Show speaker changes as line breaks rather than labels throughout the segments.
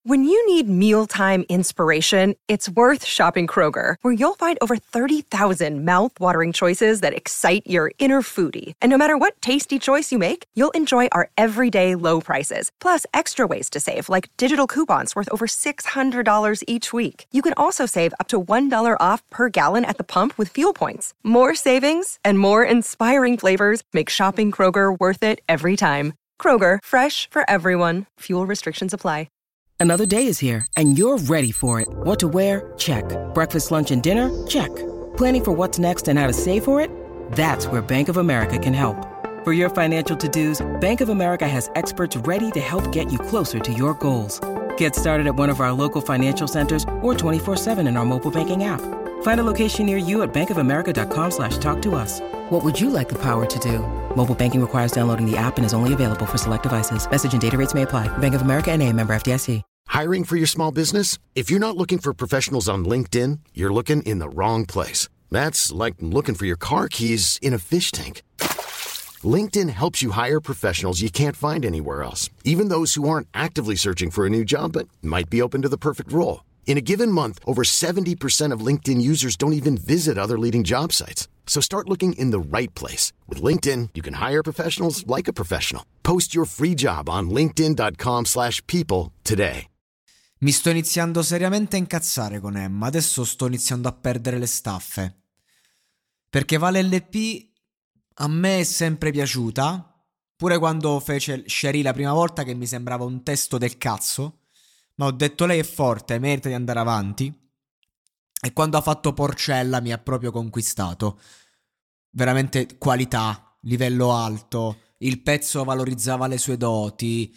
When you need mealtime inspiration, it's worth shopping Kroger, where you'll find over 30,000 mouth-watering choices that excite your inner foodie. And no matter what tasty choice you make, you'll enjoy our everyday low prices, plus extra ways to save, like digital coupons worth over $600 each week. You can also save up to $1 off per gallon at the pump with fuel points. More savings and more inspiring flavors make shopping Kroger worth it every time. Kroger, fresh for everyone. Fuel restrictions apply.
Another day is here, and you're ready for it. What to wear? Check. Breakfast, lunch, and dinner? Check. Planning for what's next and how to save for it? That's where Bank of America can help. For your financial to-dos, Bank of America has experts ready to help get you closer to your goals. Get started at one of our local financial centers or 24/7 in our mobile banking app. Find a location near you at bankofamerica.com/talktous. What would you like the power to do? Mobile banking requires downloading the app and is only available for select devices. Message and data rates may apply. Bank of America N.A., member FDIC.
Hiring for your small business? If you're not looking for professionals on LinkedIn, you're looking in the wrong place. That's like looking for your car keys in a fish tank. LinkedIn helps you hire professionals you can't find anywhere else, even those who aren't actively searching for a new job but might be open to the perfect role. In a given month, over 70% of LinkedIn users don't even visit other leading job sites. So start looking in the right place. With LinkedIn, you can hire professionals like a professional. Post your free job on linkedin.com/people today.
Mi sto iniziando seriamente a incazzare con Emma, adesso sto iniziando a perdere le staffe. Perché Vale LP a me è sempre piaciuta, pure quando fece Cherie la prima volta che mi sembrava un testo del cazzo, ma ho detto lei è forte, merita di andare avanti. E quando ha fatto Porcella mi ha proprio conquistato. Veramente qualità, livello alto, il pezzo valorizzava le sue doti,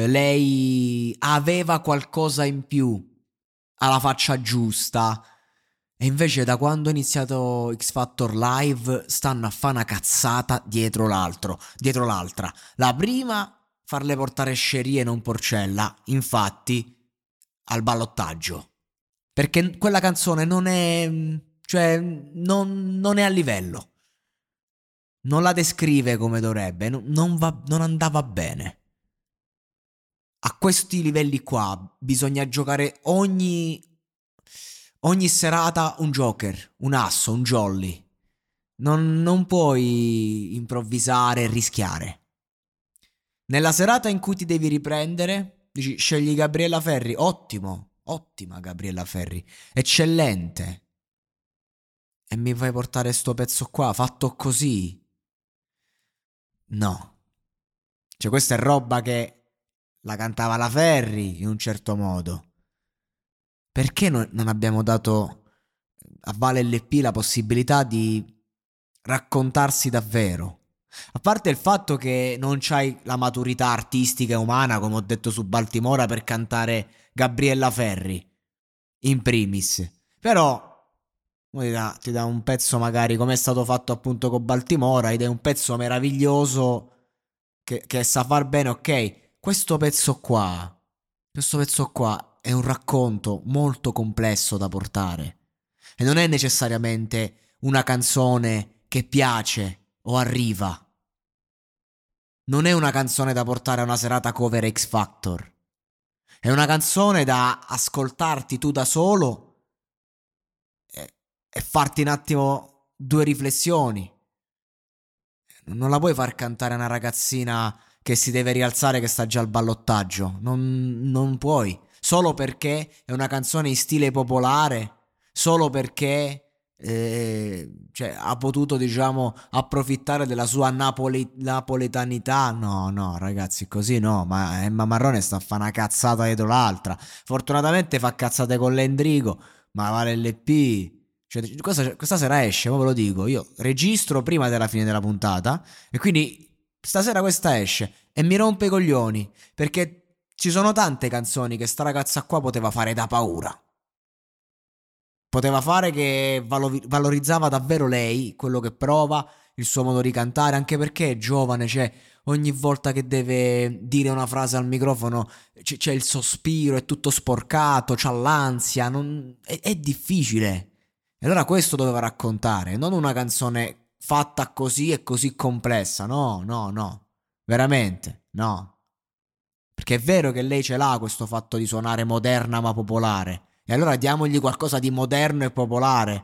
lei aveva qualcosa in più, ha la faccia giusta. E invece da quando è iniziato X Factor Live stanno a fare una cazzata dietro l'altra. La prima, farle portare Cherie e non Porcella, infatti al ballottaggio. Perché quella canzone non è... cioè non è a livello. Non la descrive come dovrebbe, non andava bene. A questi livelli qua bisogna giocare ogni serata un joker, un asso, un jolly. Non puoi improvvisare e rischiare. Nella serata in cui ti devi riprendere, dici scegli Gabriella Ferri, ottima Gabriella Ferri, eccellente. E mi fai portare sto pezzo qua, fatto così? No. Cioè questa è roba che la cantava la Ferri in un certo modo. Perché non abbiamo dato a Vale LP la possibilità di raccontarsi davvero? A parte il fatto che non c'hai la maturità artistica e umana, come ho detto su Baltimora, per cantare Gabriella Ferri, in primis. Però ti dà un pezzo magari come è stato fatto appunto con Baltimora, ed è un pezzo meraviglioso che sa far bene, ok. Questo pezzo qua è un racconto molto complesso da portare. E non è necessariamente una canzone che piace o arriva. Non è una canzone da portare a una serata cover X Factor. È una canzone da ascoltarti tu da solo e farti un attimo due riflessioni. Non la puoi far cantare a una ragazzina che si deve rialzare, che sta già al ballottaggio. Non puoi. Solo perché è una canzone in stile popolare, solo perché ha potuto, diciamo, approfittare della sua napoletanità. No ragazzi, così no. Ma Emma Marrone sta a fare una cazzata dietro l'altra. Fortunatamente fa cazzate con l'Endrigo, ma Vale LP, cioè, questa sera esce, ma ve lo dico, io registro prima della fine della puntata e quindi stasera questa esce e mi rompe i coglioni, perché ci sono tante canzoni che sta ragazza qua poteva fare da paura. Poteva fare che valorizzava davvero lei, quello che prova, il suo modo di cantare, anche perché è giovane, cioè ogni volta che deve dire una frase al microfono c'è il sospiro, è tutto sporcato, c'ha l'ansia, è difficile. E allora questo doveva raccontare, non una canzone fatta così e così complessa, no, veramente, no. Perché è vero che lei ce l'ha questo fatto di suonare moderna ma popolare. E allora diamogli qualcosa di moderno e popolare.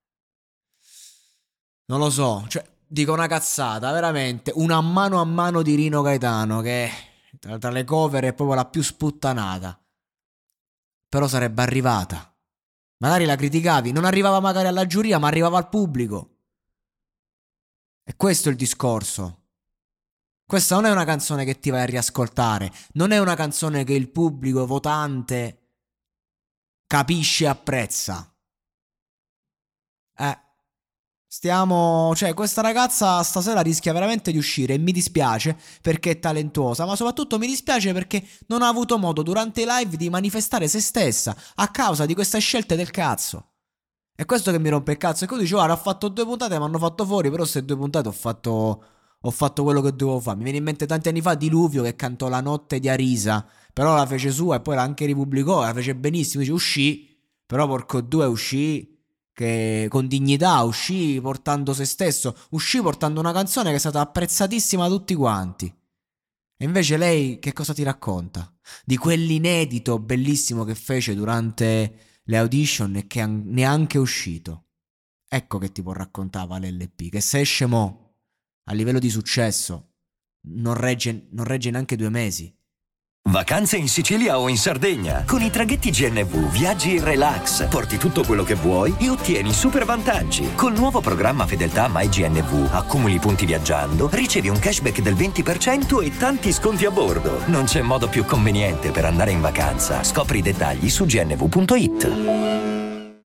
Non lo so, cioè, dico una cazzata, veramente. Una a mano di Rino Gaetano, che tra le cover è proprio la più sputtanata. Però sarebbe arrivata. Magari la criticavi, non arrivava magari alla giuria, ma arrivava al pubblico. E questo è il discorso. Questa non è una canzone che ti vai a riascoltare, non è una canzone che il pubblico votante capisce e apprezza. Cioè, questa ragazza stasera rischia veramente di uscire e mi dispiace perché è talentuosa, ma soprattutto mi dispiace perché non ha avuto modo durante i live di manifestare se stessa a causa di queste scelte del cazzo. È questo che mi rompe il cazzo. E così dice, guarda, ho fatto 2 puntate, mi hanno fatto fuori, però queste 2 puntate ho fatto quello che dovevo fare. Mi viene in mente tanti anni fa Diluvio che cantò La notte di Arisa, però la fece sua e poi la anche ripubblicò, la fece benissimo, dice uscì, però porco due uscì che con dignità, uscì portando se stesso, uscì portando una canzone che è stata apprezzatissima da tutti quanti. E invece lei che cosa ti racconta? Di quell'inedito bellissimo che fece durante le audition e che neanche è uscito. Ecco che ti può raccontare l'LP, che se esce mo a livello di successo non regge neanche 2 mesi.
Vacanze in Sicilia o in Sardegna. Con i traghetti GNV viaggi in relax, porti tutto quello che vuoi e ottieni super vantaggi. Col nuovo programma Fedeltà MyGNV accumuli punti viaggiando, ricevi un cashback del 20% e tanti sconti a bordo. Non c'è modo più conveniente per andare in vacanza. Scopri i dettagli su gnv.it.